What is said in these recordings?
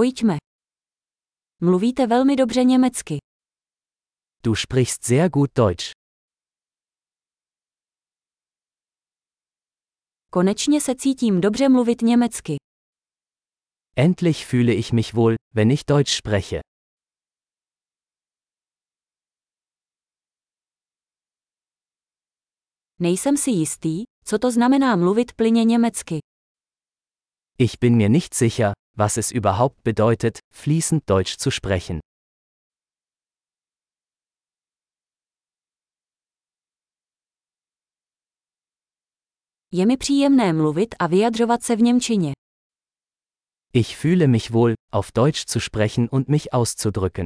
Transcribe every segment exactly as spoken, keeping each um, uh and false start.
Pojďme. Mluvíte velmi dobře německy. Du sprichst sehr gut Deutsch. Konečně se cítím dobře mluvit německy. Endlich fühle ich mich wohl, wenn ich Deutsch spreche. Nejsem si jistý, co to znamená mluvit plynně německy. Ich bin mir nicht sicher, was es überhaupt bedeutet, fließend Deutsch zu sprechen. Je mi příjemné mluvit a vyjadřovat se v němčině. Ich fühle mich wohl, auf Deutsch zu sprechen und mich auszudrücken.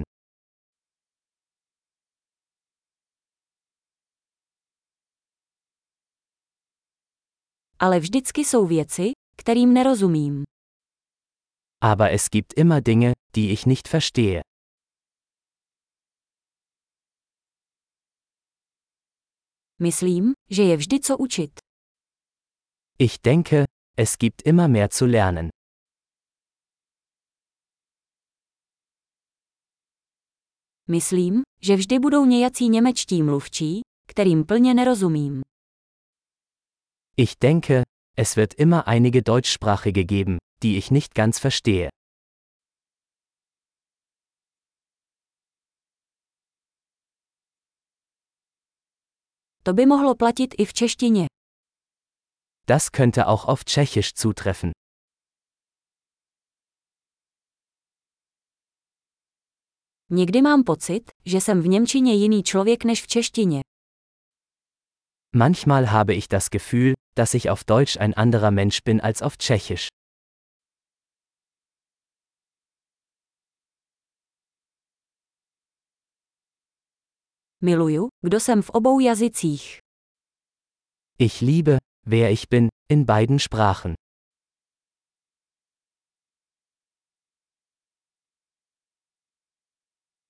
Ale vždycky jsou věci, kterým nerozumím. Aber es gibt immer Dinge, die ich nicht verstehe. Myslím, že je vždy co učit. Ich denke, es gibt immer mehr zu lernen. Myslím, že vždy budou nějací němečtí mluvčí, kterým plně nerozumím. Ich denke, es wird immer einige Deutschsprachige geben, die ich nicht ganz verstehe. To by mohlo platit i v češtině. Das könnte auch auf Tschechisch zutreffen. Někdy mám pocit, že jsem v němčině jiný člověk než v češtině. Manchmal habe ich das Gefühl, dass ich auf Deutsch ein anderer Mensch bin als auf Tschechisch. Miluju, kdo jsem v obou jazycích. Ich liebe, wer ich bin, in beiden Sprachen.